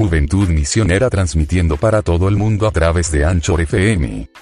Juventud Misionera transmitiendo para todo el mundo a través de Anchor FM.